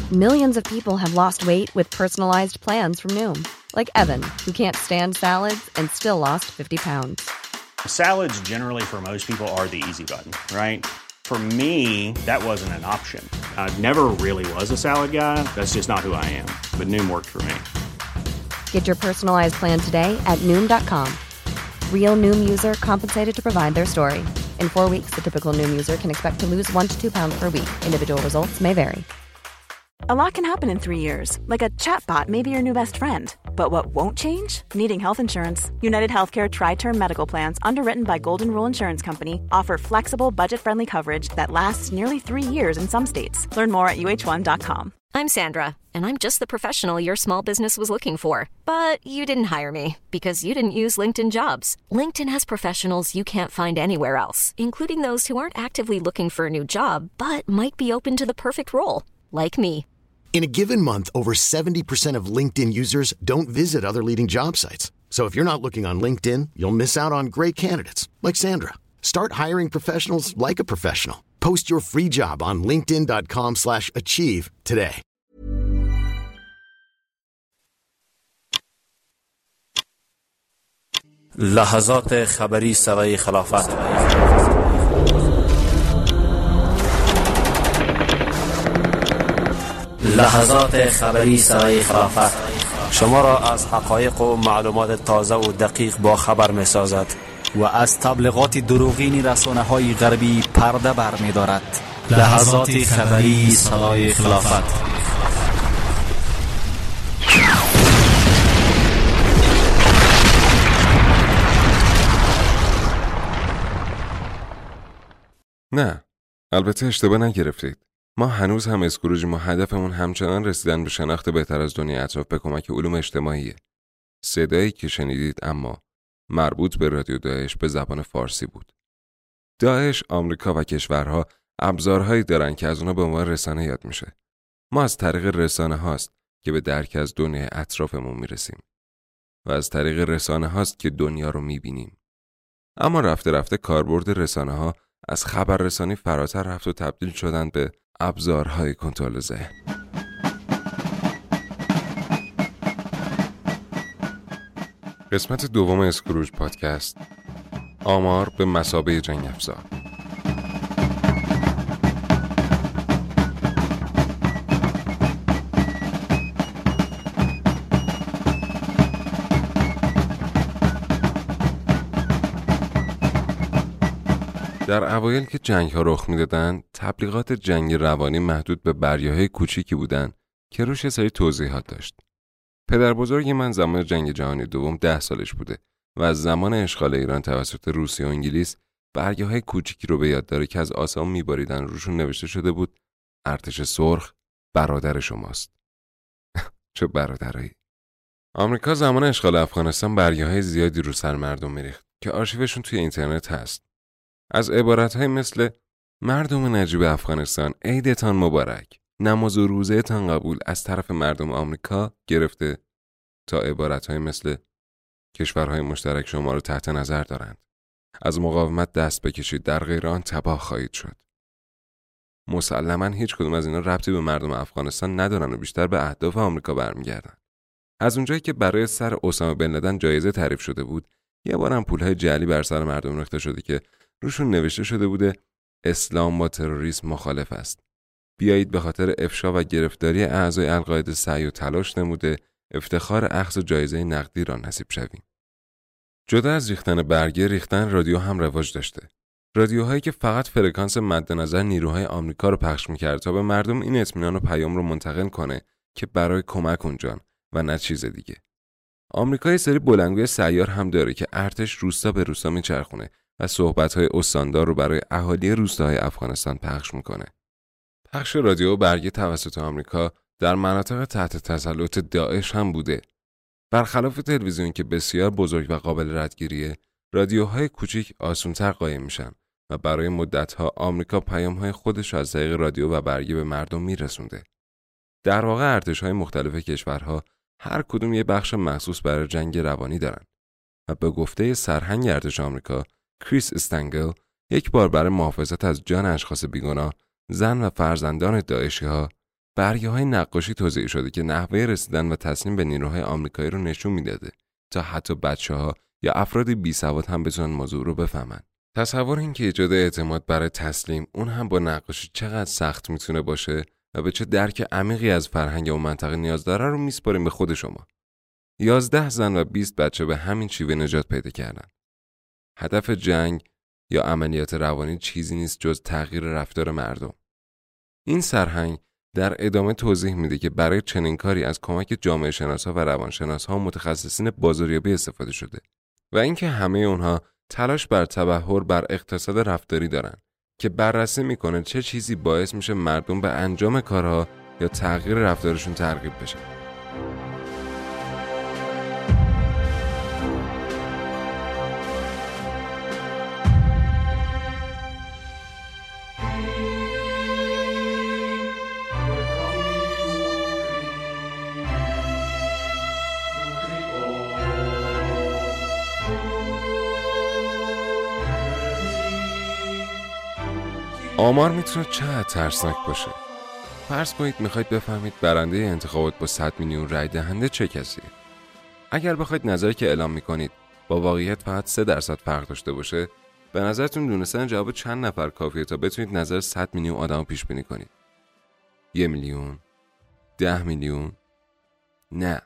Millions of people have lost weight with personalized plans from Noom. Like Evan, who can't stand salads and still lost 50 pounds. Salads generally for most people are the easy button, right? For me, that wasn't an option. I never really was a salad guy. That's just not who I am. But Noom worked for me. Get your personalized plan today at Noom.com. Real Noom user compensated to provide their story. In 4 weeks, the typical Noom user can expect to lose 1 to 2 pounds per week. Individual results may vary. A lot can happen in 3 years, like a chatbot may be your new best friend. But what won't change? Needing health insurance. United Healthcare Tri-Term Medical Plans, underwritten by Golden Rule Insurance Company, offer flexible, budget-friendly coverage that lasts nearly 3 years in some states. Learn more at uh1.com. I'm Sandra, and I'm just the professional your small business was looking for. But you didn't hire me because you didn't use LinkedIn Jobs. LinkedIn has professionals you can't find anywhere else, including those who aren't actively looking for a new job, but might be open to the perfect role, like me. In a given month, over 70% of LinkedIn users don't visit other leading job sites. So if you're not looking on LinkedIn, you'll miss out on great candidates like Sandra. Start hiring professionals like a professional. Post your free job on linkedin.com/achieve today. لحظات خبری سوای خلافت. لحظات خبری سرای خلافت شما را از حقایق و معلومات تازه و دقیق با خبر می سازد و از تبلیغات دروغین رسانه‌های غربی پرده بر می دارد. لحظات خبری سرای خلافت. نه، البته اشتباه نگرفتید. ما هنوز هم اسکروجیم و هدفمون همچنان رسیدن به شناخت بهتر از دنیای اطراف به کمک علوم اجتماعیه. صدایی که شنیدید اما مربوط به رادیو داعش به زبان فارسی بود. داعش، آمریکا و کشورها ابزارهایی دارن که از اونا به عنوان رسانه یاد میشه. ما از طریق رسانه هاست که به درک از دنیای اطرافمون میرسیم و از طریق رسانه هاست که دنیا رو میبینیم. اما رفته رفته کاربرد رسانه ها از خبررسانی فراتر رفت و تبدیل شدن به ابزارهای کنترل ذهن. قسمت دوم اسکروج پادکست، آمار به مثابه جنگ افزار. در اوایل که جنگ‌ها رخ می‌دادن، تبلیغات جنگ روانی محدود به بریاهای کوچیکی بودن که روش یه سری توضیحات داشت. پدر بزرگ من زمان جنگ جهانی دوم 10 سالش بوده و از زمان اشغال ایران توسط روسیه و انگلیس برگه‌های کوچیکی رو به یاد داره که از آسمون می‌باریدن، روشون نوشته شده بود ارتش سرخ برادر شماست. چه برادرایی. آمریکا زمان اشغال افغانستان برگه‌های زیادی رو سر مردم می‌ریخت که آرشیوشون توی اینترنت هست. از عبارت‌های مثل مردم نجیب افغانستان عیدتان مبارک، نماز و روزه‌تان قبول از طرف مردم آمریکا گرفته تا عبارت‌های مثل کشورهای مشترک شما رو تحت نظر دارند. از مقاومت دست بکشید، در غیر آن تباه خواهید شد. مسلماً هیچ کدوم از اینا ربطی به مردم افغانستان ندارن و بیشتر به اهداف آمریکا برمیگردن. از اونجایی که برای سر اسامه بن لدن جایزه تعریف شده بود، یه بارم پولهای جعلی بر سر مردم ریخته شده که روشون نوشته شده بوده اسلام با تروریسم مخالف است. بیایید به خاطر افشا و گرفتاری اعضای القاعده سعی و تلاش نموده افتخار اخذ جایزه نقدی را نصیب شویم. جدا از ریختن برگه، ریختن رادیو هم رواج داشته. رادیوهایی که فقط فرکانس مد نظر نیروهای آمریکا رو پخش می‌کرد تا به مردم این اطمینان و پیام رو منتقل کنه که برای کمک اونجان و نه چیز دیگه. آمریکا یه سری بلندگوی سیار هم داره که ارتش روستا به روستا میچرخونه و صحبت‌های استاندار رو برای اهالی روستاهای افغانستان پخش میکنه. پخش رادیو و برگه توسط آمریکا در مناطق تحت تسلط داعش هم بوده. برخلاف تلویزیون که بسیار بزرگ و قابل ردگیریه، رادیوهای کوچیک آسان‌تر قایم میشن و برای مدت‌ها آمریکا پیام‌های خودش از طریق رادیو و برگه به مردم میرسونده. در واقع ارتش‌های مختلف کشورها هر کدوم یه بخش مخصوص برای جنگ روانی دارن و به گفته سرهنگ ارتش آمریکا کریس استنگل یک بار برای محافظت از جان اشخاص بیگناه، زن و فرزندان داعشی‌ها برگه‌های نقاشی توزیع شده که نحوه رسیدن و تسلیم به نیروهای آمریکایی رو نشون میداده تا حتی بچه‌ها یا افراد بی‌سواد هم بتونن موضوع رو بفهمن. تصور این که ایجاد اعتماد برای تسلیم، اون هم با نقاشی، چقدر سخت میتونه باشه و به چه درک عمیقی از فرهنگ اون منطقه نیاز داره رو میسپاریم به خود شما. 11 زن و 20 بچه به همین شیوه نجات پیدا کردن. هدف جنگ یا عملیات روانی چیزی نیست جز تغییر رفتار مردم. این سرهنگ در ادامه توضیح میده که برای چنین کاری از کمک جامعه شناسا و روانشناسا و متخصصین بازاریابی استفاده شده و اینکه همه اونها تلاش بر تبحر بر اقتصاد رفتاری دارن که بررسی میکنه چه چیزی باعث میشه مردم به انجام کارها یا تغییر رفتارشون ترغیب بشن. آمار میتونه چقدر ترسناک باشه. فرض کنید میخواید بفهمید برنده انتخابات با 100 میلیون رای دهنده چه کسیه. اگر بخواید نظری که اعلام میکنید با واقعیت فقط 3% فرق داشته باشه، به نظرتون دونستن جواب چند نفر کافیه تا بتونید نظر 100 میلیون آدم رو پیش بینی کنید؟ 1 میلیون؟ 10 میلیون؟ نه.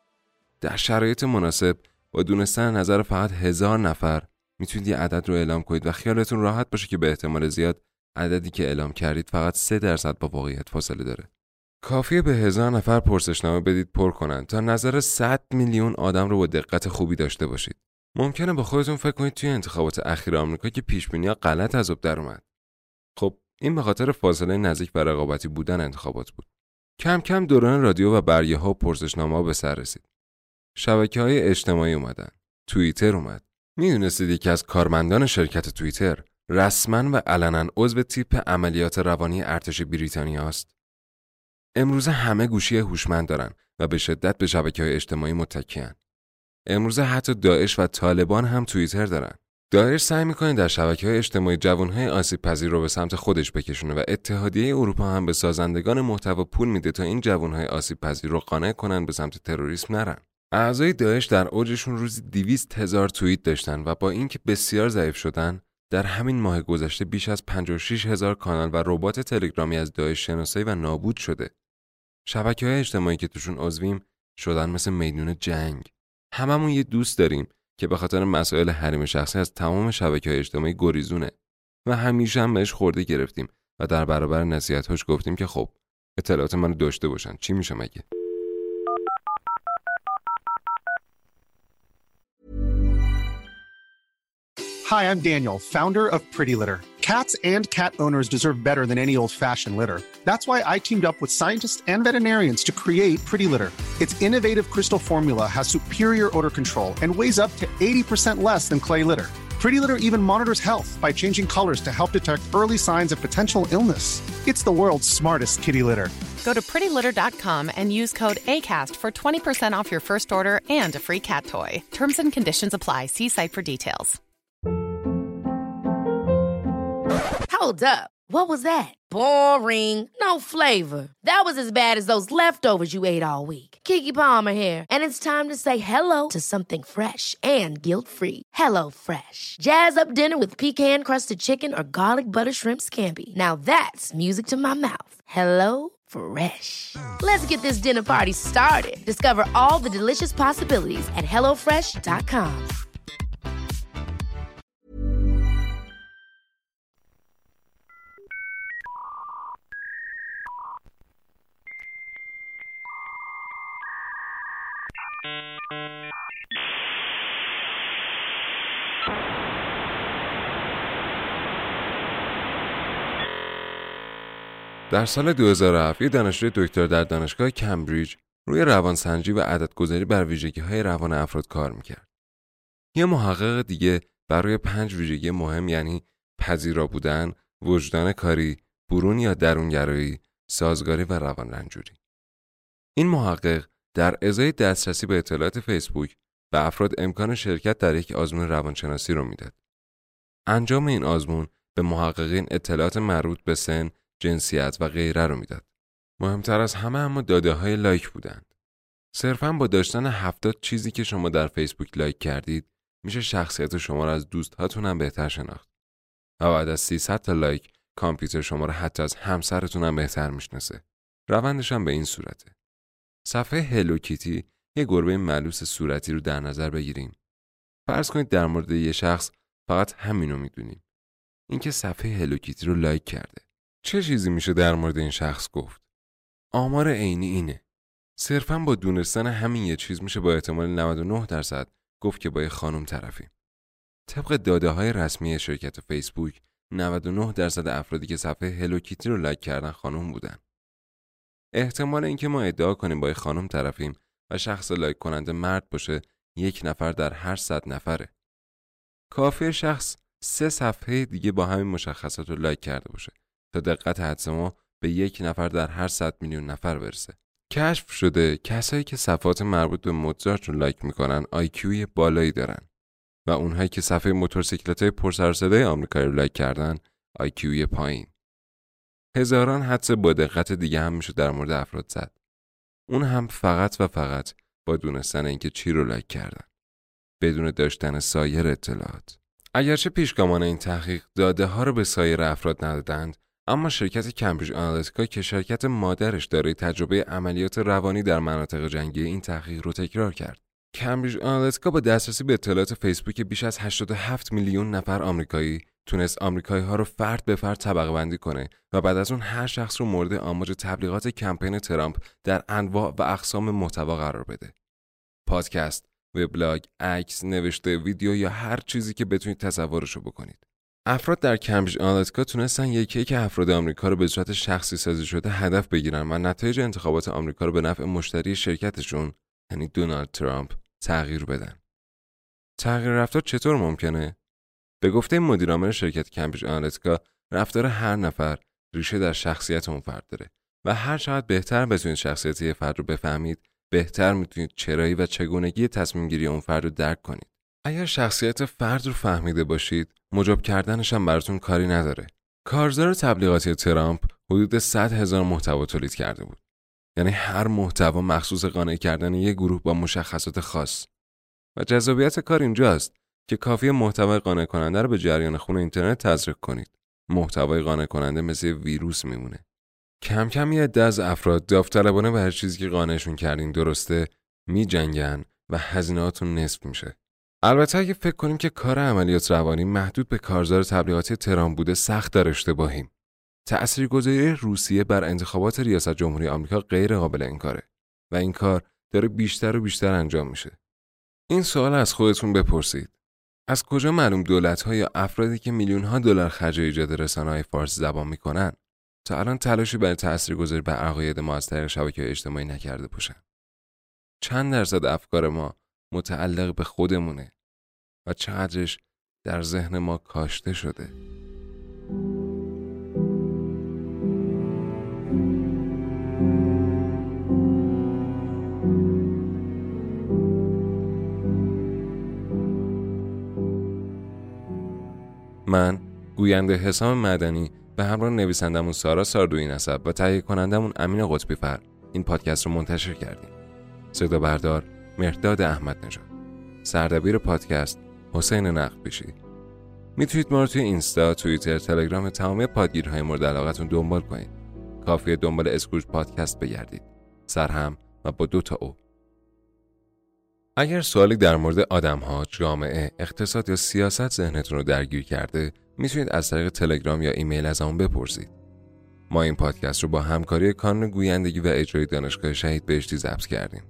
در شرایط مناسب با دونستن نظر فقط 1000 نفر میتونید یه عدد رو اعلام کنید و خیالتون راحت باشه که به احتمال زیاد عددی که اعلام کردید فقط 3% با واقعیت فاصله داره. کافیه به 1000 نفر پرسشنامه بدید پر کنن تا نظر 100 میلیون آدم رو با دقت خوبی داشته باشید. ممکنه با خودتون فکر کنید توی انتخابات اخیر آمریکا که پیش‌بینی‌ها غلط از آب در اومد. خب این به خاطر فاصله نزدیک و رقابتی بودن انتخابات بود. کم کم دوران رادیو و برگه‌ها و پرسشنامه‌ها به سر رسید. شبکه‌های اجتماعی اومدن. توییتر اومد. میدونستید یکی از کارمندان شرکت توییتر رسما و علنا عضو تیپ عملیات روانی ارتش بریتانیا است؟ امروزه همه گوشی هوشمند دارن و به شدت به شبکه‌های اجتماعی متکی‌اند. امروزه حتی داعش و طالبان هم توییتر دارن. داعش سعی می‌کنه در شبکه‌های اجتماعی جوان‌های آسیب‌پذیر رو به سمت خودش بکشونه و اتحادیه اروپا هم به سازندگان محتوا پول میده تا این جوان‌های آسیب‌پذیر رو قانع کنن به سمت تروریسم نرن. اعضای داعش در اوجشون روزی 200,000 توییت داشتن و با اینکه بسیار ضعیف شدن، در همین ماه گذشته بیش از 56,000 کانال و ربات تلگرامی از داعش شناسایی و نابود شده. شبکه‌های اجتماعی که توشون عضویم شدن مثل میدون جنگ. هممون یه دوست داریم که به خاطر مسائل حریم شخصی از تمام شبکه‌های اجتماعی گریزونه و همیشه هم بهش خورده گرفتیم و در برابر نصیحت‌هاش گفتیم که خب اطلاعات منو داشته باشن، چی میشه مگه؟ Hi, I'm Daniel, founder of Pretty Litter. Cats and cat owners deserve better than any old-fashioned litter. That's why I teamed up with scientists and veterinarians to create Pretty Litter. Its innovative crystal formula has superior odor control and weighs up to 80% less than clay litter. Pretty Litter even monitors health by changing colors to help detect early signs of potential illness. It's the world's smartest kitty litter. Go to prettylitter.com and use code ACAST for 20% off your first order and a free cat toy. Terms and conditions apply. See site for details. Hold up. What was that? Boring. No flavor. That was as bad as those leftovers you ate all week. Keke Palmer here, and it's time to say hello to something fresh and guilt-free. Hello Fresh. Jazz up dinner with pecan-crusted chicken or garlic butter shrimp scampi. Now that's music to my mouth. Hello Fresh. Let's get this dinner party started. Discover all the delicious possibilities at hellofresh.com. در سال 2007 یک دانشجوی دکتر در دانشگاه کمبریج روی روانسنجی و عددگذاری بر ویژگی‌های روان افراد کار می‌کرد. یه محقق دیگه برای 5 ویژگی مهم یعنی پذیرا بودن، وجدان کاری، برون یا درونگرایی، سازگاری و روان رنجوری. این محقق در ازای دسترسی به اطلاعات فیسبوک به افراد امکان شرکت در یک آزمون روانشناسی رو میداد. انجام این آزمون به محققین اطلاعات مربوط به سن، جنسیت و غیره رو میداد. مهمتر از همه اما داده‌های لایک بودند. صرفاً با داشتن 70 چیزی که شما در فیسبوک لایک کردید میشه شخصیت شما را از دوست‌هاتون هم بهتر شناخت. و بعد از 300 تا لایک کامپیوتر شما را حتی از همسرتون هم بهتر میشناسه. روندش هم به این صورته. صفحه هلو کیتی یه گربه ملوس صورتی رو در نظر بگیریم. فرض کنید در مورد یه شخص فقط همینو میدونیم. اینکه صفحه هلو کیتی رو لایک کرده. چه چیزی میشه در مورد این شخص گفت؟ آمار عینی اینه. صرفاً با دونستن همین یه چیز میشه با احتمال 99% گفت که با یه خانم طرفیم. طبق داده‌های رسمی شرکت فیسبوک 99% افرادی که صفحه هلو کیتی رو لایک کردن خانم بودن. احتمال اینکه ما ادعا کنیم با یه خانم طرفیم و شخص لایک کننده مرد باشه 1 نفر در هر 100 نفره. کافیه شخص 3 صفحه دیگه با همین مشخصات رو لایک کرده باشه تا دقت حدس ما به 1 نفر در هر 100 میلیون نفر برسه. کشف شده کسایی که صفحات مربوط به موزارت رو لایک میکنن آیکیوی بالایی دارن و اونهایی که صفحه موتورسیکلت‌های پرسر و صدای آمریکایی رو لایک کردن آیکیوی پایین. هزاران حدس با دقت دیگه هم میشه در مورد افراد زد. اون هم فقط و فقط با دونستن اینکه چی رو لایک کردن، بدون داشتن سایر اطلاعات. اگرچه پیشگامان این تحقیق داده ها رو به سایر افراد ندادند، اما شرکت کمبریج آنالیتیکا که شرکت مادرش دارای تجربه عملیات روانی در مناطق جنگی این تحقیق رو تکرار کرد. کمبریج آنالیتیکا با دسترسی به اطلاعات فیسبوک بیش از 87 میلیون نفر آمریکایی تونست آمریکایی ها رو فرد به فرد طبقه بندی کنه و بعد از اون هر شخص رو مورد آماج تبلیغات کمپین ترامپ در انواع و اقسام محتوا قرار بده. پادکست، وبلاگ، عکس، نوشته، ویدیو یا هر چیزی که بتونید تصورش رو بکنید. افراد در کمبریج آنالیتیکا تونستن یکی افراد آمریکا رو به صورت شخصی سازی شده هدف بگیرن و نتایج انتخابات آمریکا رو به نفع مشتری شرکتشون یعنی دونالد ترامپ تغییر بدن. تغییر رفتار چطور ممکنه؟ به گفته مدیر عامل شرکت کمبریج آنالیتیکا، رفتار هر نفر ریشه در شخصیت اون فرد داره و هر چقدر بهتر بتونید شخصیت یه فرد رو بفهمید، بهتر میتونید چرایی و چگونگی تصمیم گیری اون فرد رو درک کنید. اگر شخصیت فرد رو فهمیده باشید، مجاب کردنش هم براتون کاری نداره. کارزار تبلیغاتی ترامپ حدود 100,000 محتوا تولید کرده بود. یعنی هر محتوا مخصوص قانع کردن یک گروه با مشخصات خاص. و جذابیت کار اینجاست که کافیه محتوای قانع کننده رو به جریان خون اینترنت تزریق کنید. محتوای قانع کننده مثل ویروس میمونه. کم کم یه عده از افراد داوطلبانه به هر چیزی که قانعشون کردین درسته میجنگن و هزینه‌هاتون نصف میشه. البته اگه فکر کنیم که کار عملیات روانی محدود به کارزار تبلیغاتی ترامپ بوده سخت در اشتباهیم. تأثیرگذاری روسیه بر انتخابات ریاست جمهوری آمریکا غیر قابل انکاره و این کار داره بیشتر و بیشتر انجام میشه. این سوال از خودتون بپرسید. از کجا معلوم دولت‌ها یا افرادی که میلیون‌ها دلار خرج ایجاد رسانه‌های فارسی زبان میکنن تا الان تلاشی برای تأثیرگذاری بر عقاید ما از طریق شبکه‌های اجتماعی نکرده باشن؟ چند درصد افکار ما متعلق به خودمونه و چقدرش در ذهن ما کاشته شده؟ من گوینده حسام مدنی به همراه نویسندمون سارا ساردویی نسب و تهیه کنندمون امین قطبی فر این پادکست رو منتشر کردیم. صدا بردار مهرداد احمد نژاد، سردبیر پادکست حسین نقبیشی. میتونید ما رو توی اینستا، توییتر، تلگرام تمامی پادگیرهای مورد علاقتون دنبال کنید. کافیه دنبال اسکروج پادکست بگردید. سرهم و با 2 تا او. اگر سوالی در مورد آدم‌ها، جامعه، اقتصاد یا سیاست ذهنتون رو درگیر کرده، میتونید از طریق تلگرام یا ایمیل از همون بپرسید. ما این پادکست رو با همکاری کانون گویندگی و اجرای دانشگاه شهید بهشتی ضبط کردیم.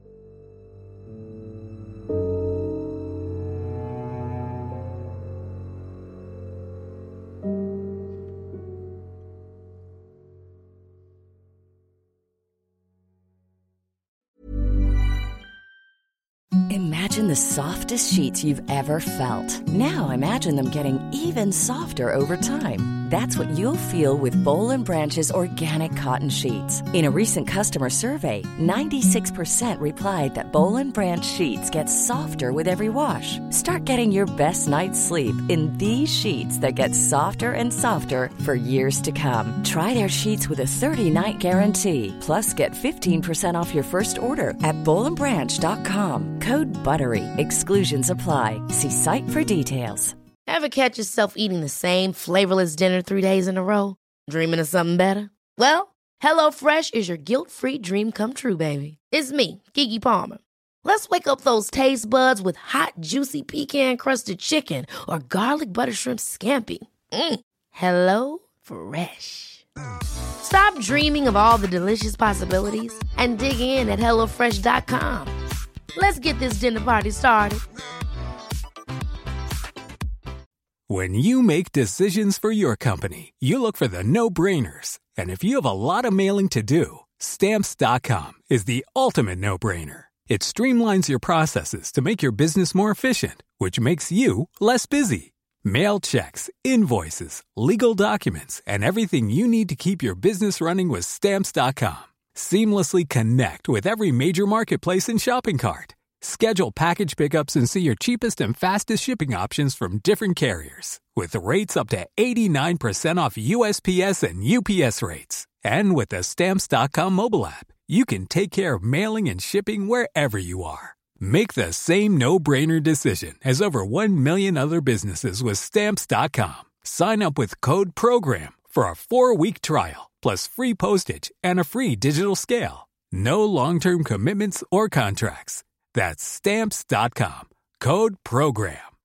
Imagine the softest sheets you've ever felt. Now imagine them getting even softer over time. That's what you'll feel with Boll & Branch's organic cotton sheets. In a recent customer survey, 96% replied that Boll & Branch sheets get softer with every wash. Start getting your best night's sleep in these sheets that get softer and softer for years to come. Try their sheets with a 30-night guarantee. Plus, get 15% off your first order at bollandbranch.com. Code BUTTERY. Exclusions apply. See site for details. Ever catch yourself eating the same flavorless dinner 3 days in a row? Dreaming of something better? Well, HelloFresh is your guilt-free dream come true, baby. It's me, Keke Palmer. Let's wake up those taste buds with hot, juicy pecan-crusted chicken or garlic butter shrimp scampi. HelloFresh. Stop dreaming of all the delicious possibilities and dig in at HelloFresh.com. Let's get this dinner party started. When you make decisions for your company, you look for the no-brainers. And if you have a lot of mailing to do, Stamps.com is the ultimate no-brainer. It streamlines your processes to make your business more efficient, which makes you less busy. Mail checks, invoices, legal documents, and everything you need to keep your business running with Stamps.com. Seamlessly connect with every major marketplace and shopping cart. Schedule package pickups and see your cheapest and fastest shipping options from different carriers. With rates up to 89% off USPS and UPS rates. And with the Stamps.com mobile app, you can take care of mailing and shipping wherever you are. Make the same no-brainer decision as over 1 million other businesses with Stamps.com. Sign up with code PROGRAM for a 4-week trial, plus free postage and a free digital scale. No long-term commitments or contracts. That's Stamps.com. Code PROGRAM.